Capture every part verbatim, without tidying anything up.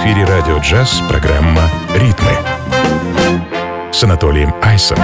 эфире радио «Джаз» программа «Ритмы» с Анатолием Айсом.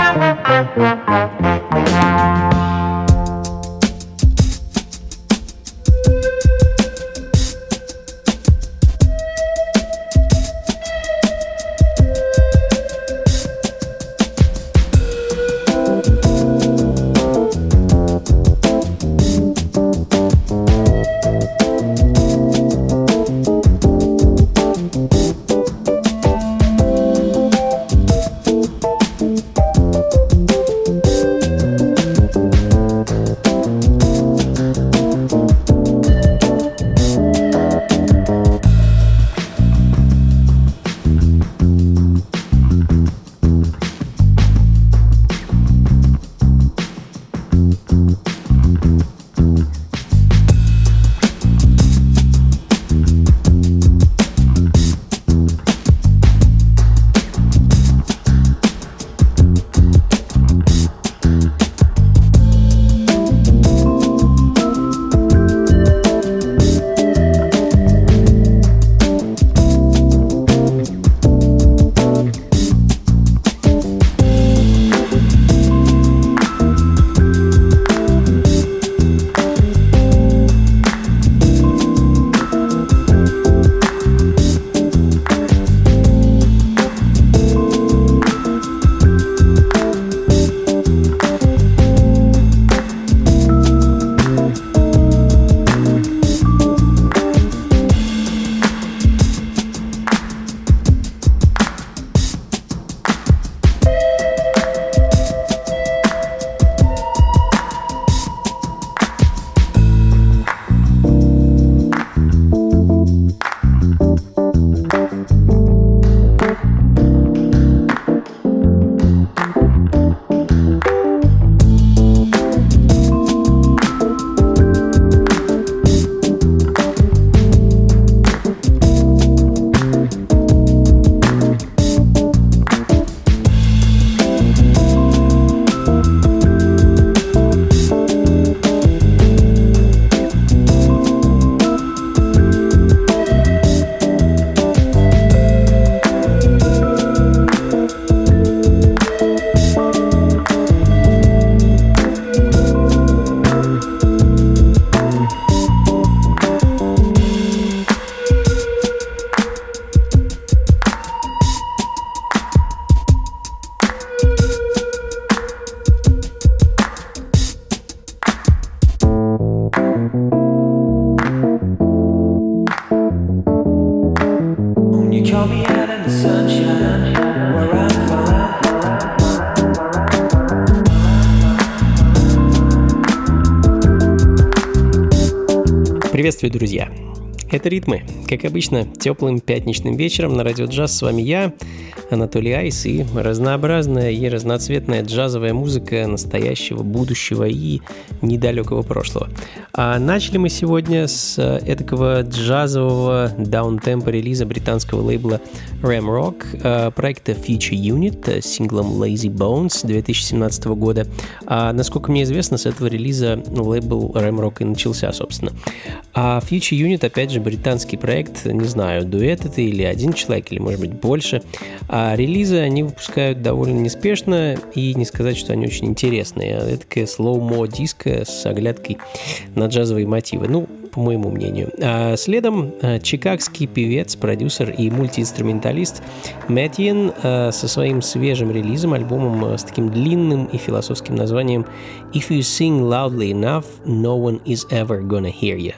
Приветствую, друзья! Это «Ритмы». Как обычно, теплым пятничным вечером на радио «Джаз» с вами я, Анатолий Айс, и разнообразная и разноцветная джазовая музыка настоящего, будущего и недалекого прошлого. А начали мы сегодня с эдакого джазового даунтемпа релиза британского лейбла Ram Rock, проекта Future Unit с синглом Lazy Bones две тысячи семнадцатого года. А, насколько мне известно, с этого релиза лейбл Ram Rock и начался, собственно. А Future Unit, опять же, британский проект, не знаю, дуэт это или один человек, или, может быть, больше. А релизы они выпускают довольно неспешно, и не сказать, что они очень интересные. Это такая slow-mo диско с оглядкой на джазовые мотивы, ну, по моему мнению. А следом чикагский певец, продюсер и мультиинструменталист Мэттиен со своим свежим релизом, альбомом с таким длинным и философским названием «If you sing loudly enough, no one is ever gonna hear you».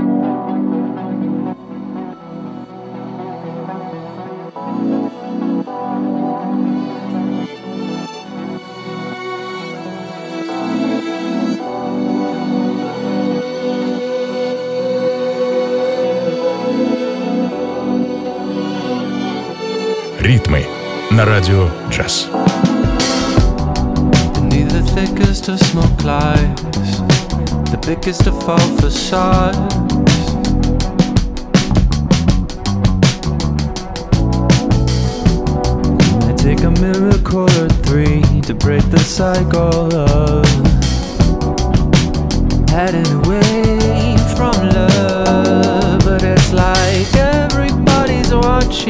Ритмы на радио «Джаз». Beneath the thickest of smoke lies, the biggest of all facades. I take a miracle or three to break the cycle of heading away from love. But it's like everybody's watching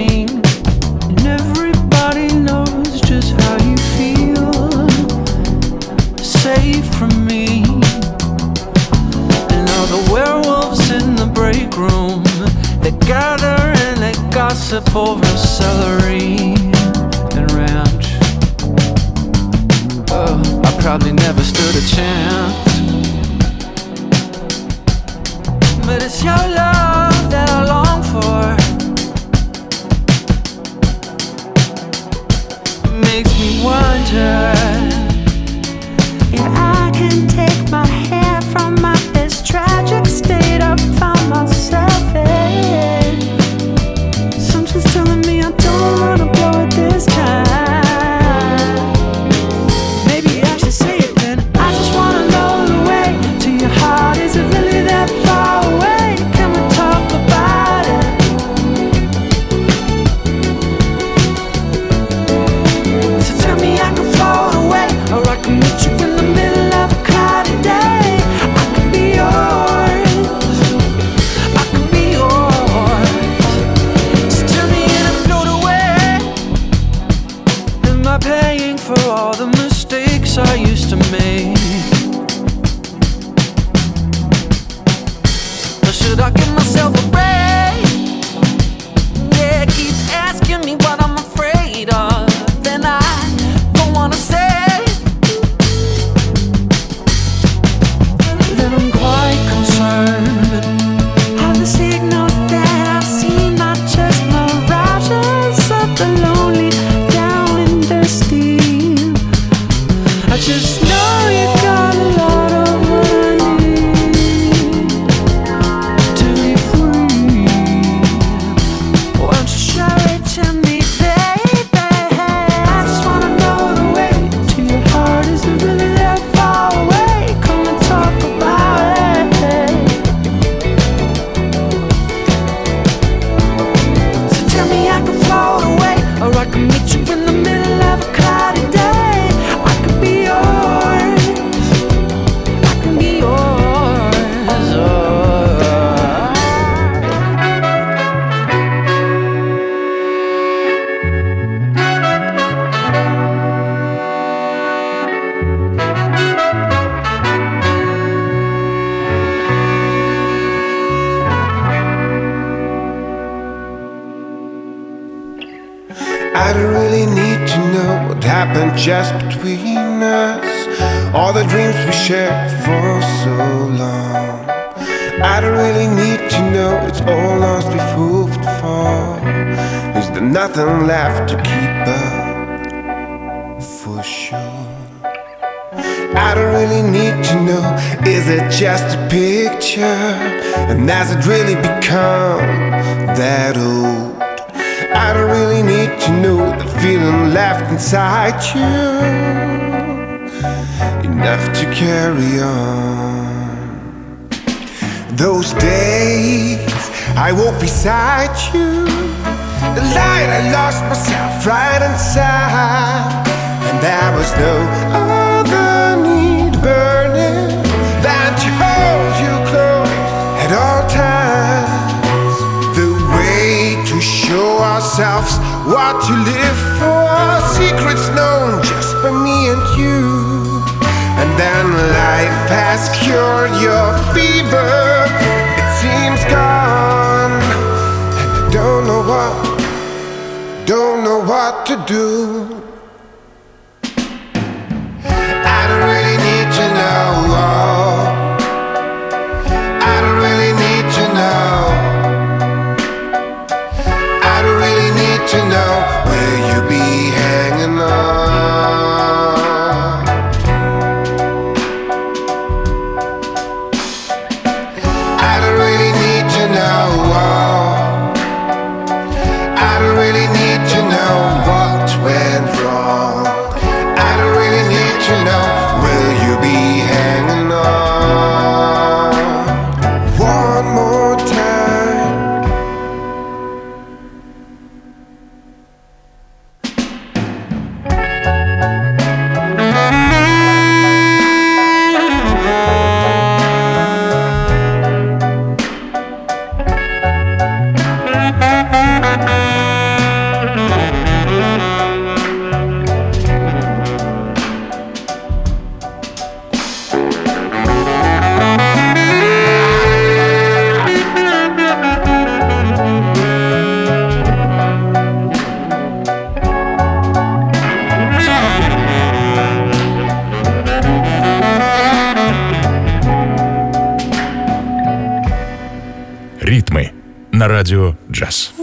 gossip over celery and ranch. Oh, I probably never stood a chance. But it's your love that I long for. It makes me wonder if I can take my hair from my this tragic state I found myself in. Something's telling me I don't wanna blow it this time. Maybe I should say it then. I just wanna know the way to your heart. Is it really that far away? Can we talk about it? So tell me I can float away, or I can meet you in the middle of a cloudy day. I could be yours, I could be yours. Just tell me and I float away. Am I paying for all the mistakes I used to make? Or should I give myself a break? Yeah, keep asking me what I'm afraid of. Then I don't wanna say Then I'm quite concerned. All the signals that I've seen are just mirages of the lonely down in the steam. I just know you got a lot of what I need to be free. Won't you show it to me, baby? I just wanna know the way to your heart. Is it really that far away? Come and talk about it. So tell me I can float away, or I can meet you in the middle of a cloudy day. I could be yours, I can be yours. Oh. I don't really need to know what happened just between us. All the dreams we shared for so long. I don't really need to know it's all lost we've hoped for. Is there nothing left to keep up for sure? I don't really need to know, is it just a picture? And has it really become that old? I don't really need to know the feeling left inside you, enough to carry on. Those days I walked beside you, the light I lost myself right inside, and there was no other need burning than to hold you close at all times. The way to show ourselves what to live for, secrets known just by me and you. And then life has cured your fever, it seems gone, and I don't know what, don't know what to do. I don't really need to know, I don't really need to know, I don't really need to know where you be hanging on. I don't really need to know, I don't really need to know what, where «Ритмы» на радио «Джаз».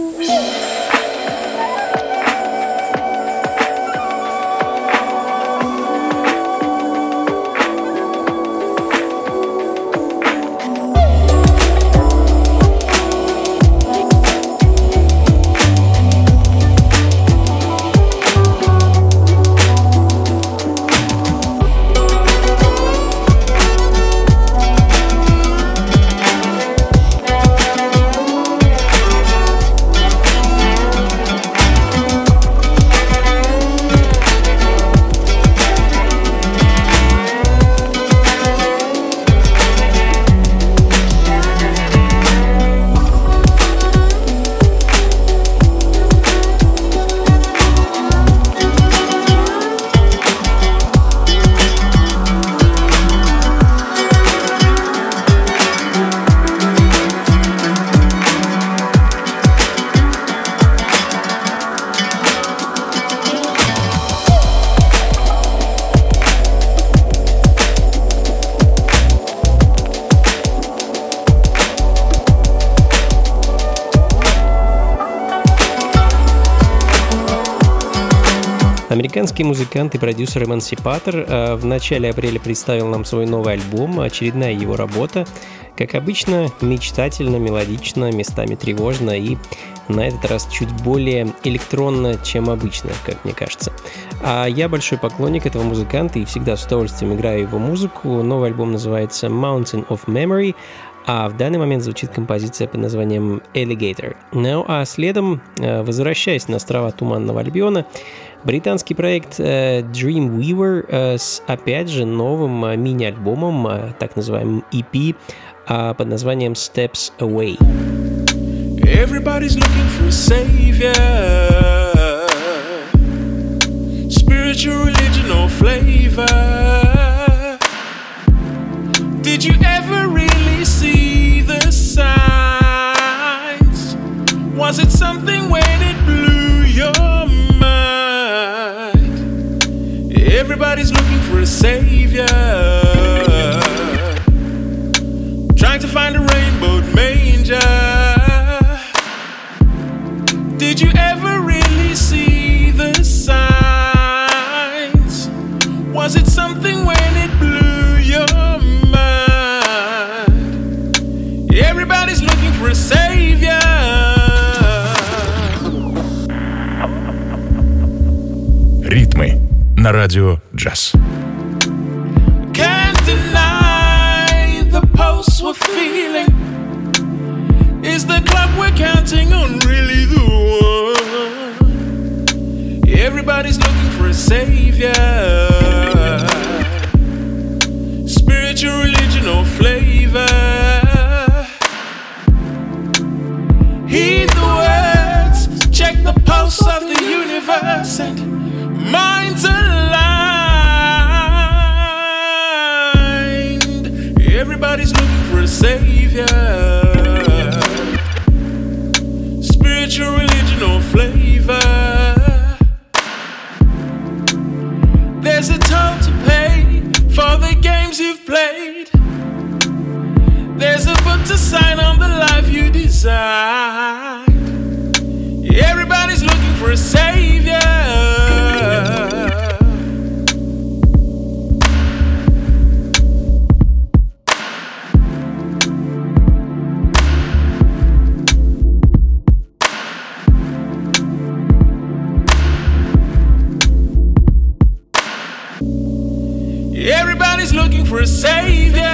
Американский музыкант и продюсер Эмансипатор в начале апреля представил нам свой новый альбом, очередная его работа. Как обычно, мечтательно, мелодично, местами тревожно и на этот раз чуть более электронно, чем обычно, как мне кажется. А я большой поклонник этого музыканта и всегда с удовольствием играю его музыку. Новый альбом называется Mountain of Memory, а в данный момент звучит композиция под названием Alligator. Ну а следом, возвращаясь на острова Туманного Альбиона, британский проект uh, Dreamweaver uh, с, опять же, новым uh, мини-альбомом, uh, так называемым и пи, uh, под названием Steps Away. Everybody's looking for a savior, spiritual religion or flavor. Did you ever really see the signs? Was it something when it blew your mind? Everybody's looking for a savior, trying to find a rainbowed manger. Did you ever really see the signs? Was it something when it blew your mind? Everybody's looking for a savior. «Ритмы» на радио «Джаз». Can't deny the pulse we're feeling. Is the club we're counting on really the one? Everybody's looking for a savior, spiritual religion or flavor. Heed the words, check the pulse of the universe, and minds aligned. Everybody's looking for a savior, spiritual religion or flavor. There's a toll to pay for the games you've played. There's a book to sign on the life you desire. Everybody's looking for a savior. Everybody's looking for a savior.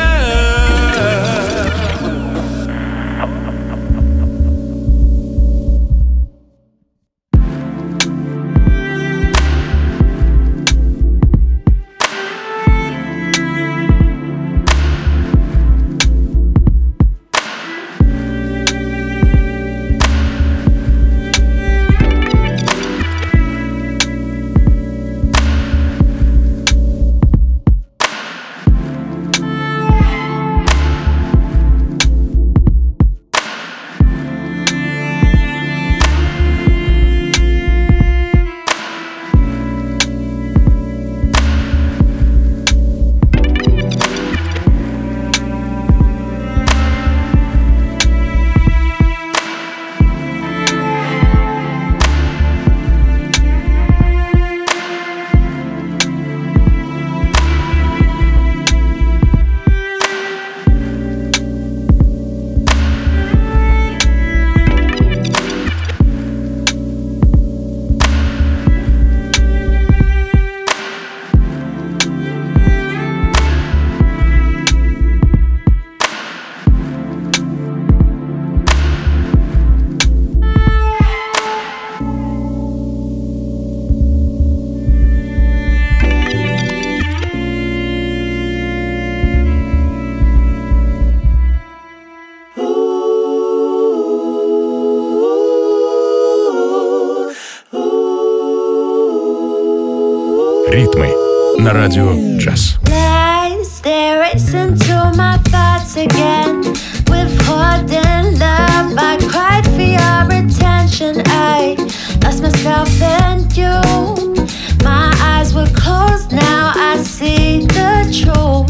Ритмы на радио джаз. They race into my thoughts again. Withholding love, I cried for your attention. I lost myself and you. My eyes were closed, now I see the truth.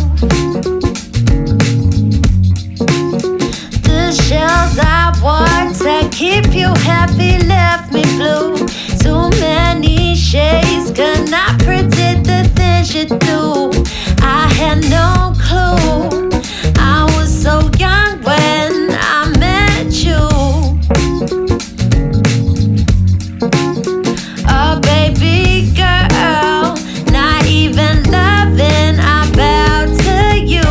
The shells I wore to keep you happy left me blue. Too many shades could not predict the things you do. I had no clue. I was so young when I met you. Oh, baby girl, not even loving, I bow to you.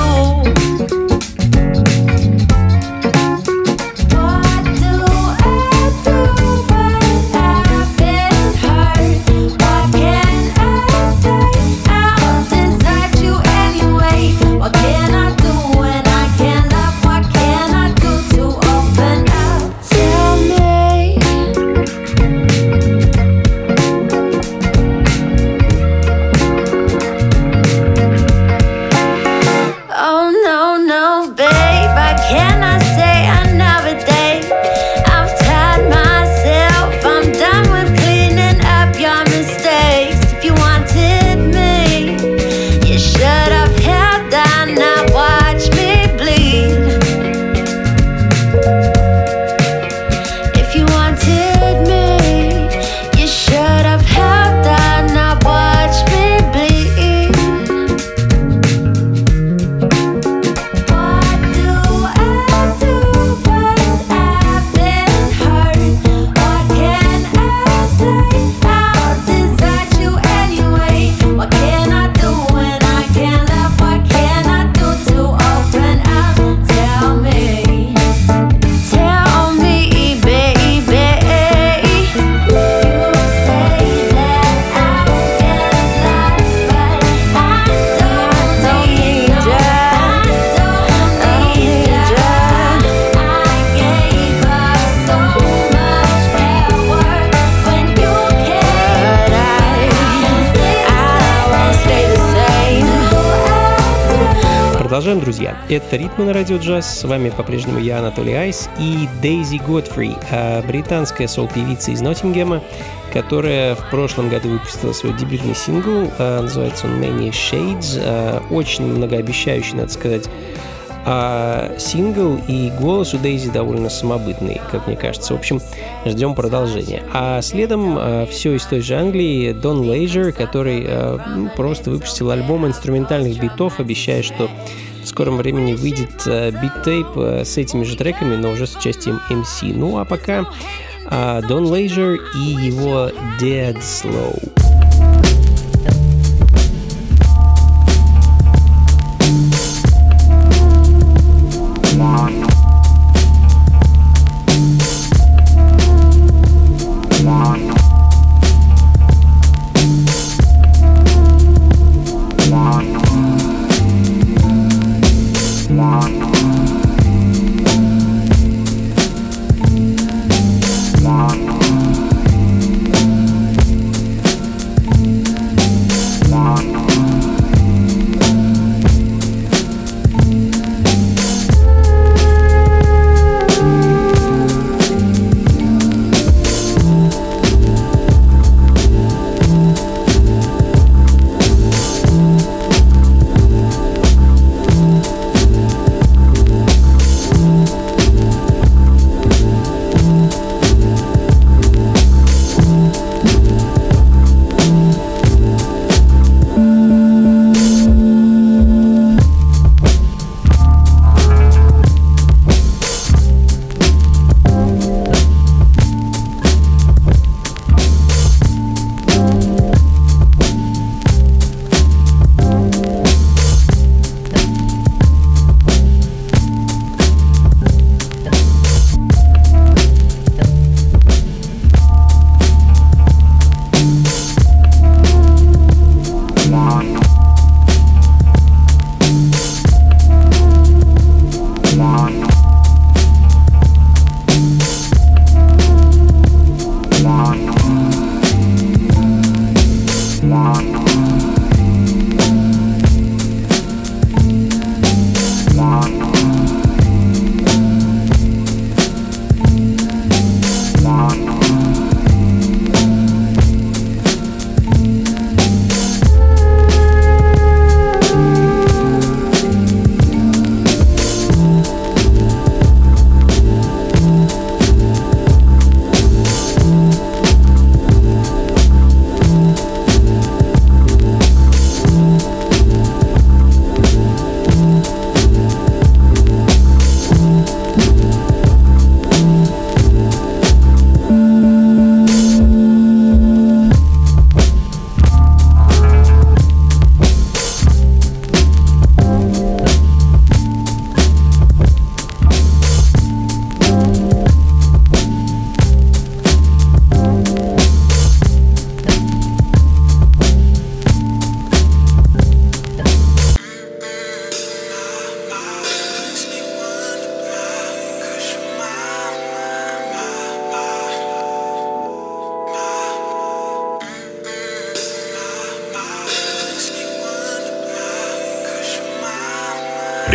What do I do when I've been hurt? What can I say? I'll desert you anyway. What can I do when I can't love? What can I do to open up? Tell me. Oh no, no, babe, I cannot stay another day. I've tired myself, I'm done with cleaning up your mistakes. If you wanted me, you should have held on, not watched me bleed. If you wanted me, you should have held on, not watched me bleed. What do I do when I've been hurt? What can I say? I'll desert you anyway. What can I do when I can't love? What can I do to open up? Tell me, tell me, baby. You say that I'll get lost, but I don't need you. I don't need you. I gave up so much power when you came. But I, I won't stay the same. Продолжаем, друзья. Это «Ритмы на радио джаз». С вами по-прежнему я, Анатолий Айс, и Дейзи Годфри, британская соул-певица из Ноттингема, которая в прошлом году выпустила свой дебютный сингл. Называется он «Many Shades». Очень многообещающий, надо сказать, сингл, и голос у Дейзи довольно самобытный, как мне кажется. В общем, ждем продолжения. А следом все из той же Англии Дон Лейджер, который ну, просто выпустил альбом инструментальных битов, обещая, что в скором времени выйдет бит-тейп с этими же треками, но уже с участием эм си. Ну а пока Дон Лейджер и его Dead Slow.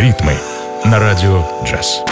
Ритмы на радио «Джаз».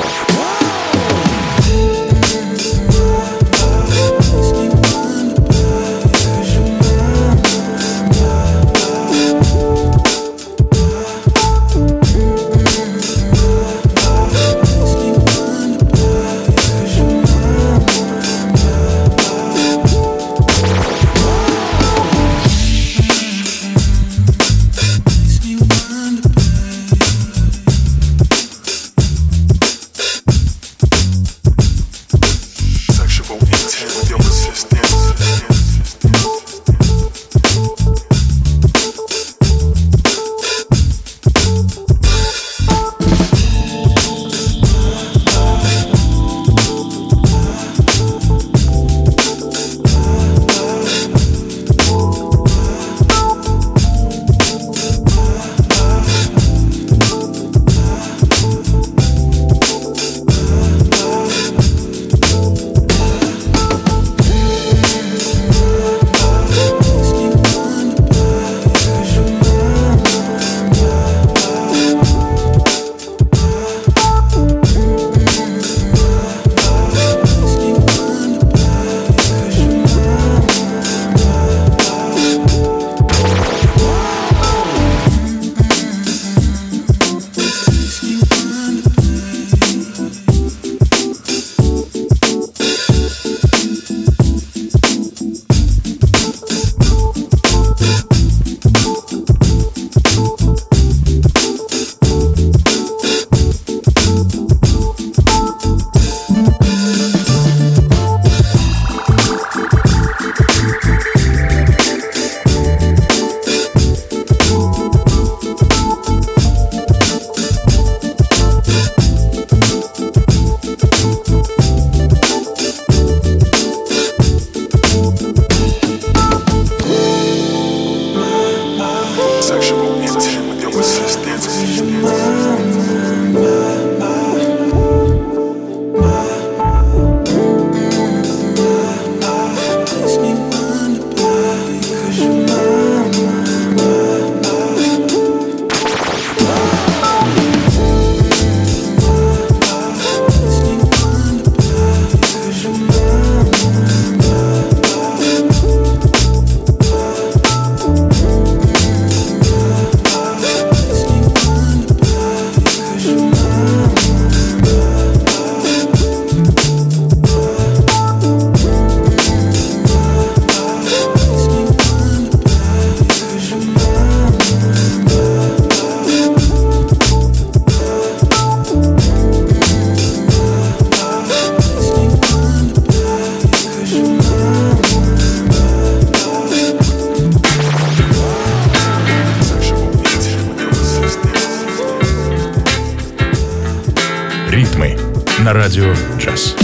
Ритмы на радио «Джаз».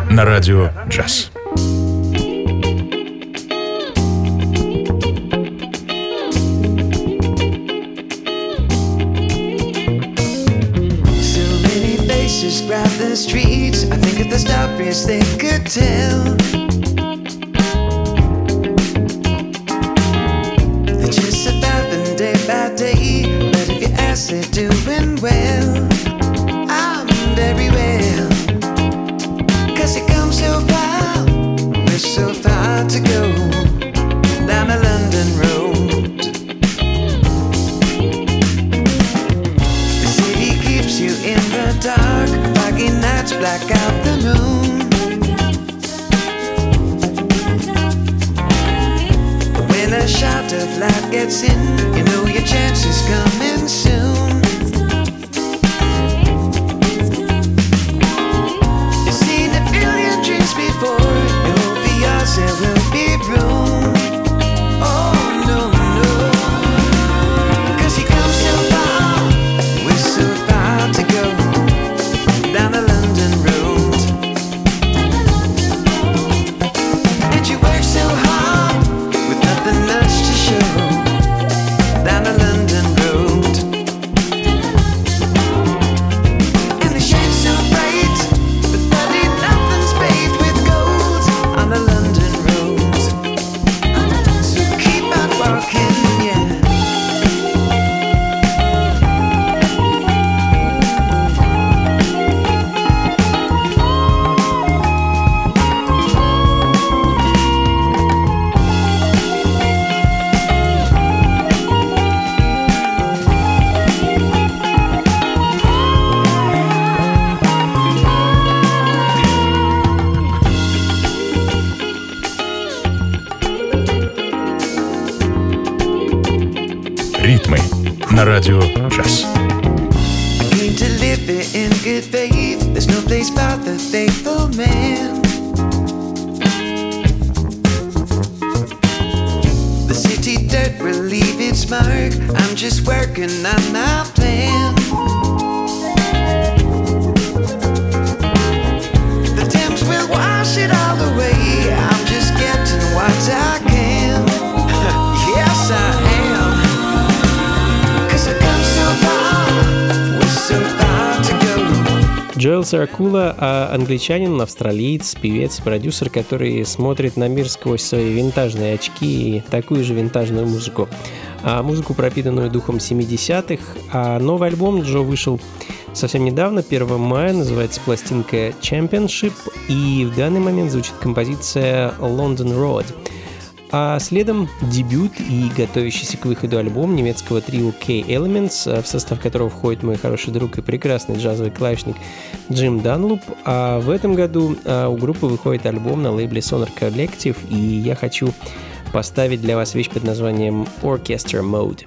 на радио «Джаз». Grab the streets, I think if the stories they could tell they're just surviving day by day, but if you ask, they're doing well. I'm very well, cause it comes so far, we're so far to go down the London road. The city keeps you in the dark, foggy nights black out the moon. When a shot of light gets in, you know your chance is coming soon. You've seen a billion dreams before, you hope for yours there will be room. Oh no, no, cause you come so far, we're so far to go down the London road. And you work so hard with nothing much to show down the London road. And the shade's so bright, but bloody nothing's paved with gold on the London road. So keep on walking, yeah. Ритмы на радио «Джаз». I came to live it in good faith. There's no place but the faithful man. The city dirt will leave its mark. I'm just working on my plan. The Thames will wash it all away. I'm just getting what I can. Yes, I am. Cause I come so far, we're so far to go. Джоэл Саракула, а англичанин, австралиец, певец и продюсер, который смотрит на мир сквозь свои винтажные очки и такую же винтажную музыку. А музыку, пропитанную духом семидесятых. А новый альбом Джо вышел совсем недавно, первого мая, называется пластинка Championship, и в данный момент звучит композиция London Road. А следом дебют и готовящийся к выходу альбом немецкого трио K-Elements, в состав которого входит мой хороший друг и прекрасный джазовый клавишник Джим Данлоп. А в этом году у группы выходит альбом на лейбле Sonar Collective, и я хочу поставить для вас вещь под названием Orchestra Mode.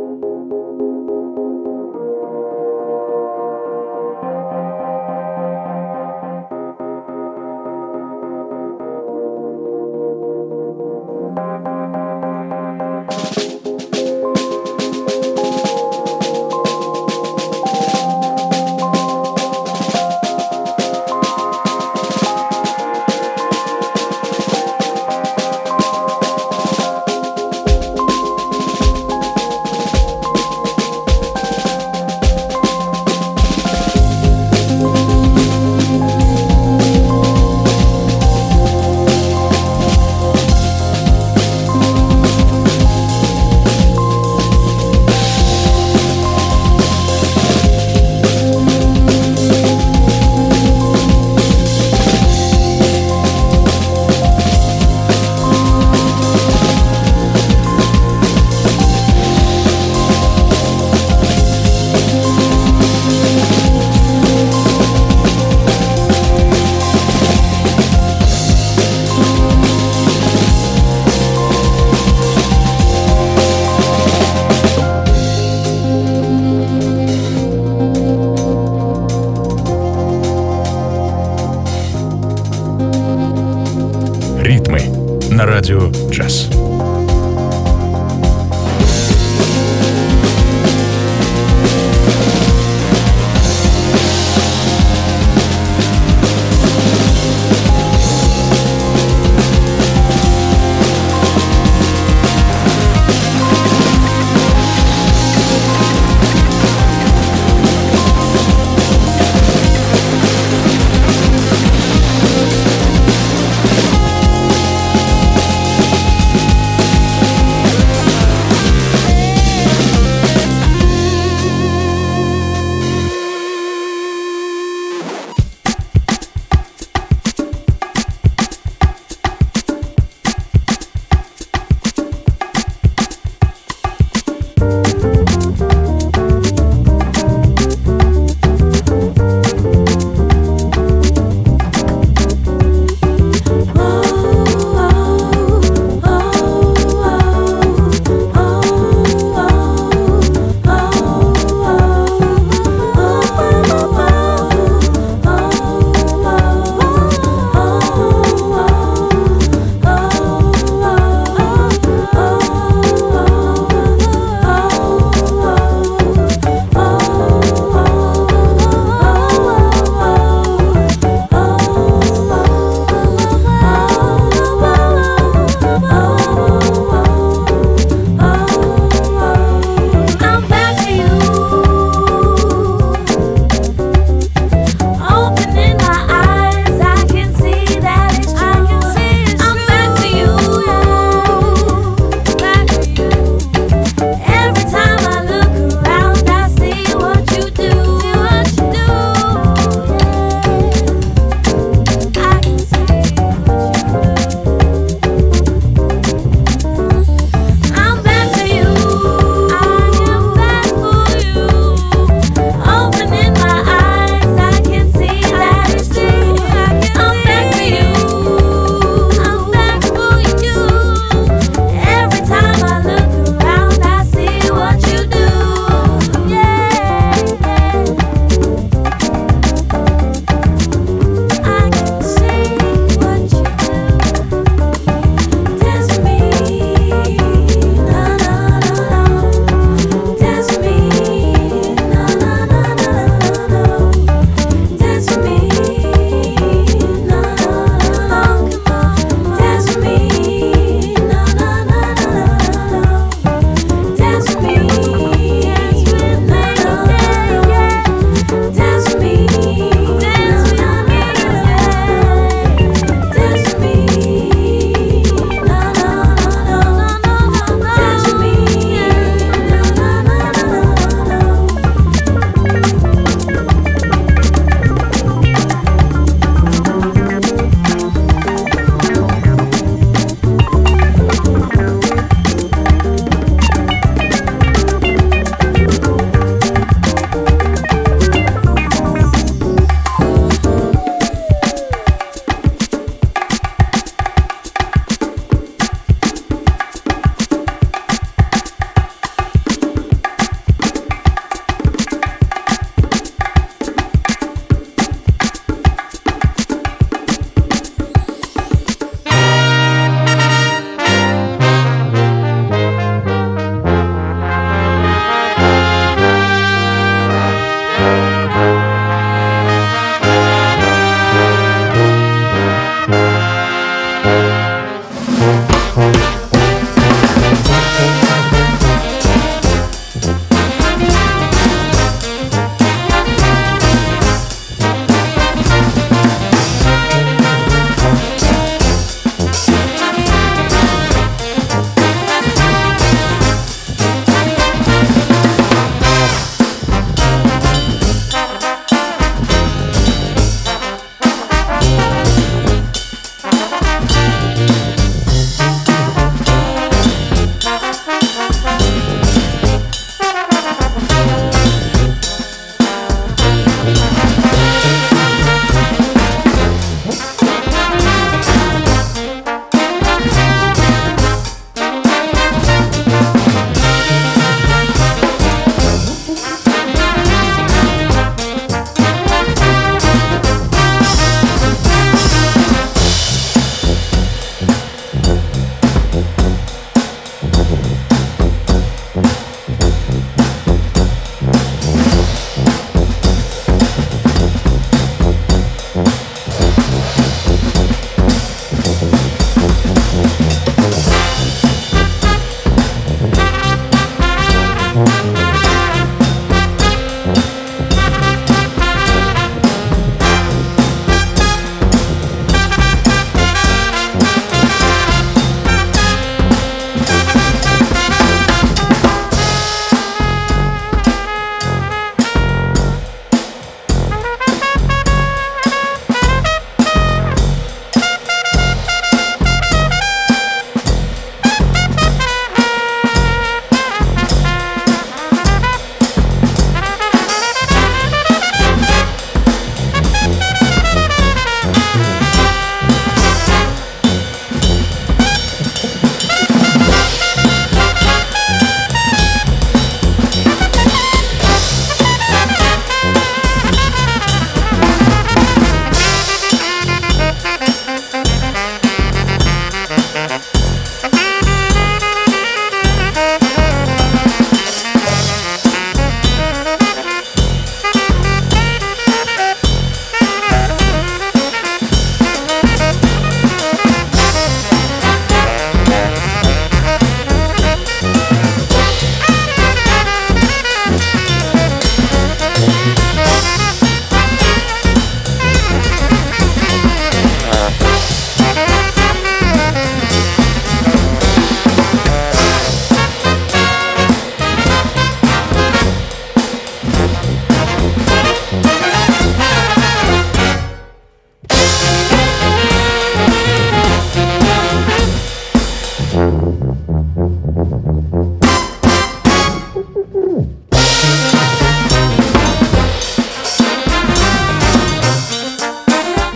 на радио «Джаз».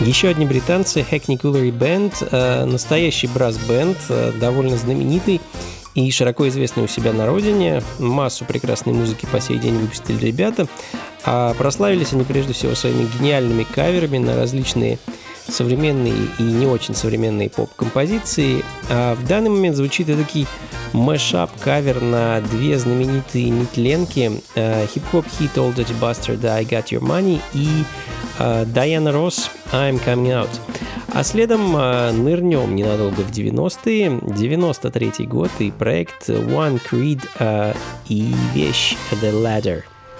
Еще одни британцы, Hackney Coolery Band, настоящий брас-бенд, довольно знаменитый и широко известный у себя на родине. Массу прекрасной музыки по сей день выпустили ребята. А прославились они прежде всего своими гениальными каверами на различные современные и не очень современные поп-композиции. А в данный момент звучит эдакий мэшап-кавер на две знаменитые нетленки: хип-хоп хит Old Dirty Bastard I Got Your Money и Diana Ross I'm Coming Out. А следом нырнем ненадолго в девяностые, девяносто третий год и проект One Creed и вещь The Ladder.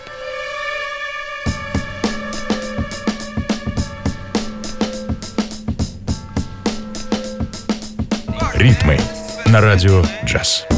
Ритмы на радио джаз.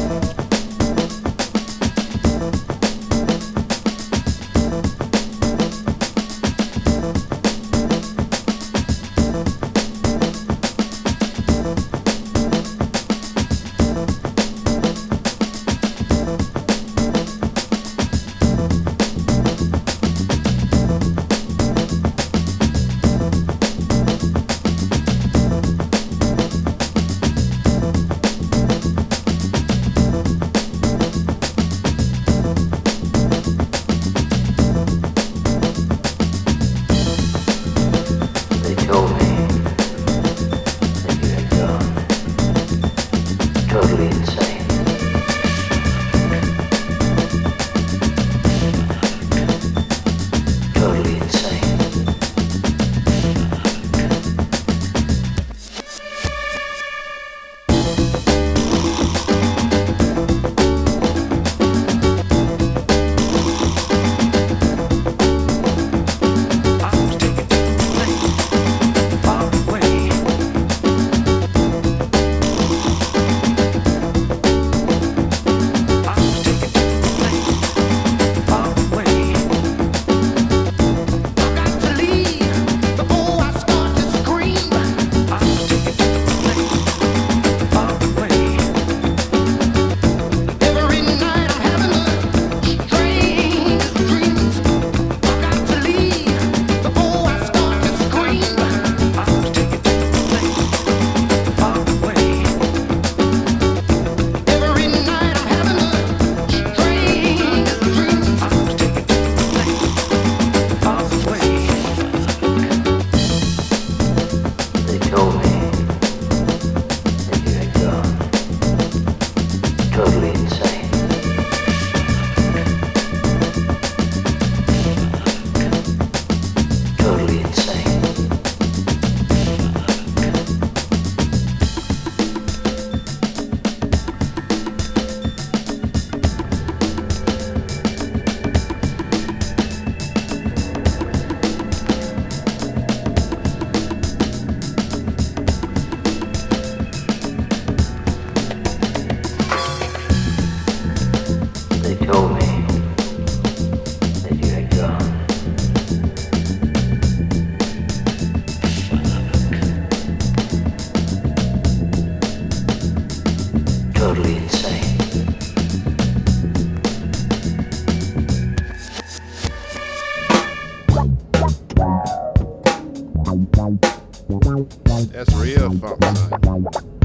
That's real funk, son.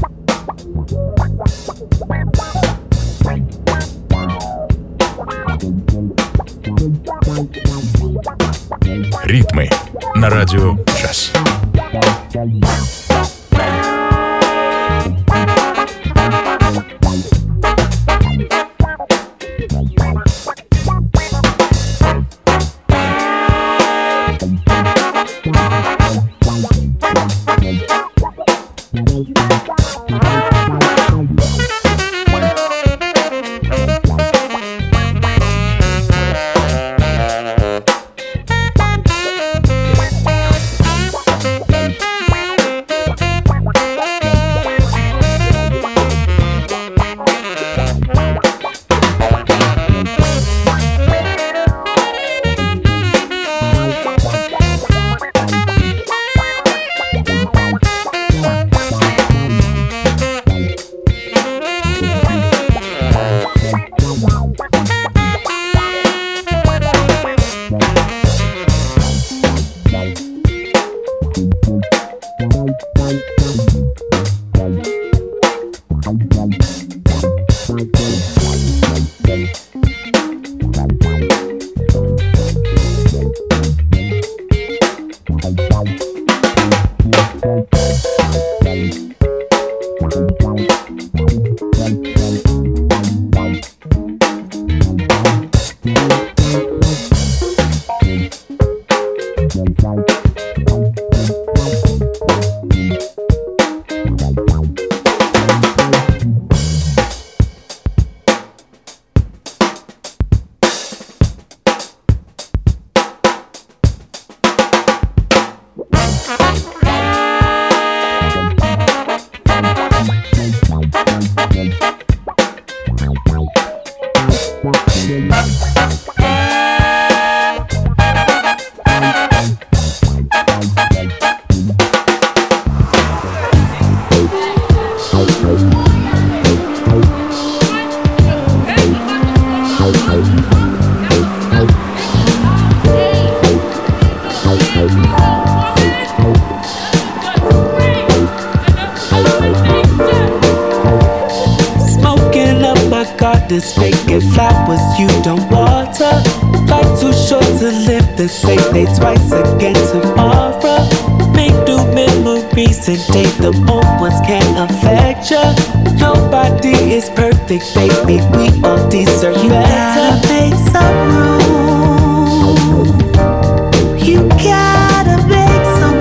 Ритмы на радио джаз. This vacant flowers you don't water. Life too short to live the same day twice again tomorrow. Make new memories and date them old ones can't affect ya. Nobody is perfect, baby, we all deserve you better. You gotta make some room. You gotta make some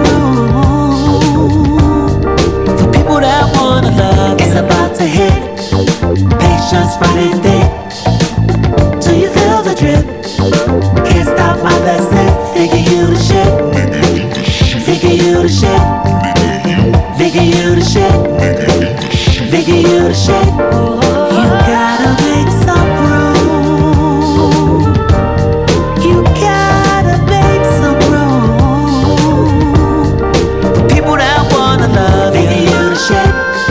room for people that wanna love. It's about to hit. Patience running thick. Do you feel the drip? Can't stop my blessings. Thinking you the shit. Thinking you the shit. Thinking you the shit. Thinking you the shit. You gotta make some room. You gotta make some room for people that wanna love. Thinking you the shit.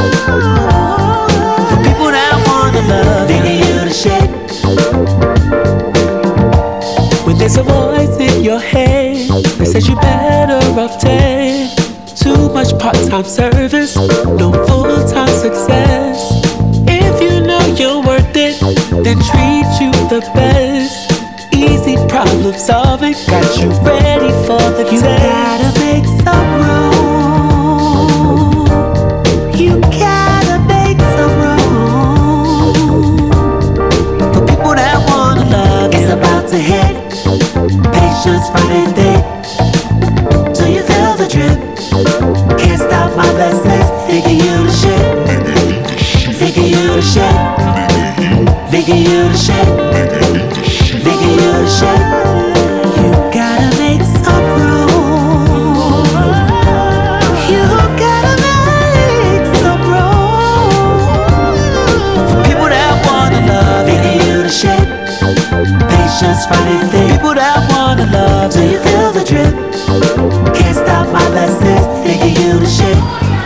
When there's a voice in your head that says you better off dead. Too much part-time service, no full-time success. If you know you're worth it, then treat you the best. Easy problem solving, got you ready for the you test. You gotta make some room. You gotta make some room for people that wanna love. It's about to hit. Patience running thick. Do you feel the drip? Can't stop my blessings. Thinking you the shit. Thinking you the shit. Thinking you the shit. Thinking you the shit. You gotta make some room. You gotta make some room for people that wanna love. Thinking you the shit. Patience running thick. People that wanna love. Do you feel the drip? Can't stop my blessings. Thinking you the shit.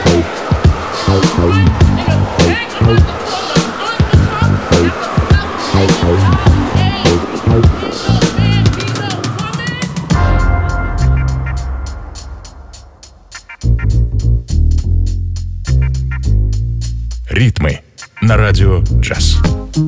Ритмы на радио «Джаз».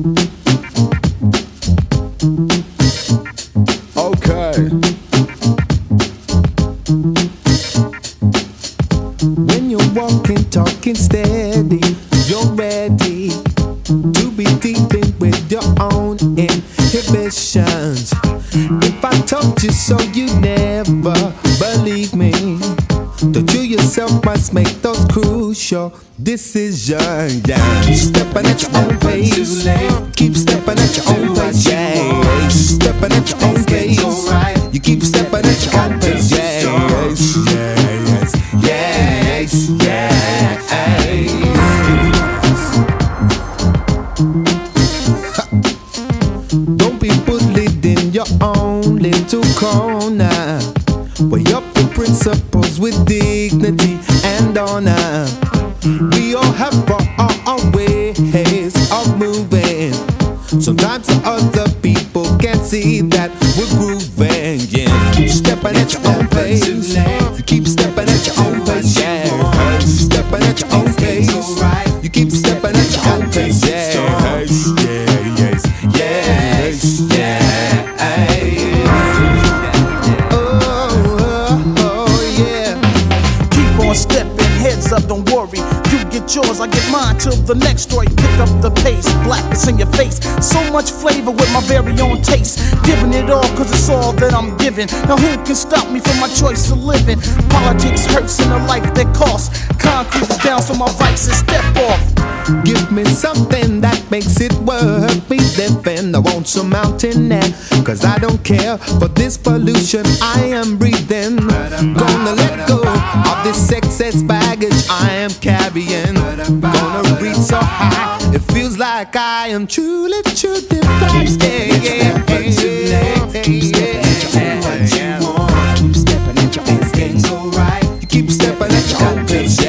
When you're walking, talking steady, you're ready to be deep in with your own inhibitions. If I told you so, you never believe me. That you yourself must make those crucial decisions. Yeah. Keep stepping at your own pace. Keep stepping at your own pace. Yeah. Keep stepping at your own pace. You keep stepping at your own pace. Yeah. Yes. Yes. Yes. Don't be bullied in your own little corner. Weigh up the principles with dignity and honor. We all have our, our, our ways of moving. Sometimes the other people can't see that we're grooving. Yeah, keep stepping at your own pace. You keep stepping at your own pace. Yeah, keep stepping at your own pace. You keep stepping at your own pace. Yeah, yes, yes, yes, yes. Oh, oh, oh, yeah. Keep on stepping. hands up, don't worry. You get yours, I get mine till the next story. Pick up the pace, blackness in your face. So much flavor with my very own taste. Giving it all cause it's all that I'm giving. Now who can stop me from my choice of living? Politics hurts in a life that costs. Concrete is down so my vices step off. Give me something that makes it worth me living. I want some mountain air, cause I don't care for this pollution I am breathing. Gonna let go of this excess baggage I am carrying. Gonna reach so high, it feels like I am truly, truly flying. Keep stepping at your left, keep stepping at your ass. Keep stepping at your ass, getting so right. You keep stepping at your own pace.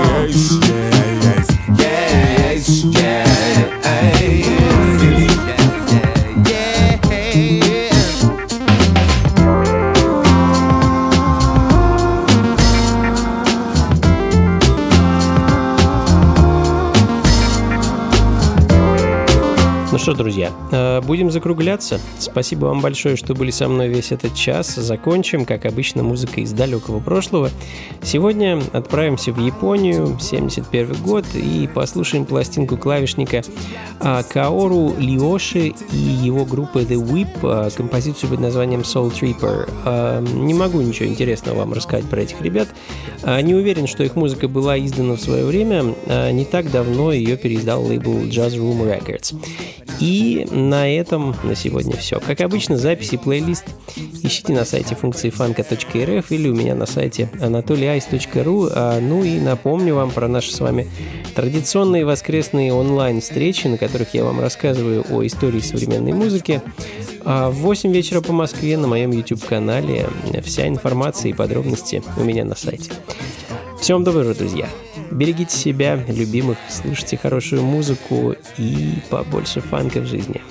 Ну что, друзья, будем закругляться. Спасибо вам большое, что были со мной весь этот час. Закончим, как обычно, музыкой из далекого прошлого. Сегодня отправимся в Японию, семьдесят первый год, и послушаем пластинку клавишника Каору Лиоши и его группы The Whip, композицию под названием Soul Tripper. Не могу ничего интересного вам рассказать про этих ребят. Не уверен, что их музыка была издана в свое время. Не так давно ее переиздал лейбл Jazz Room Records. И на этом на сегодня все. Как обычно, записи и плейлист ищите на сайте функции фанка точка эр эф или у меня на сайте анатолий айс точка ру. Ну и напомню вам про наши с вами традиционные воскресные онлайн-встречи, на которых я вам рассказываю о истории современной музыки. В восемь вечера по Москве на моем YouTube-канале. Вся информация и подробности у меня на сайте. Всем доброго, друзья! Берегите себя, любимых, слушайте хорошую музыку и побольше фанка в жизни.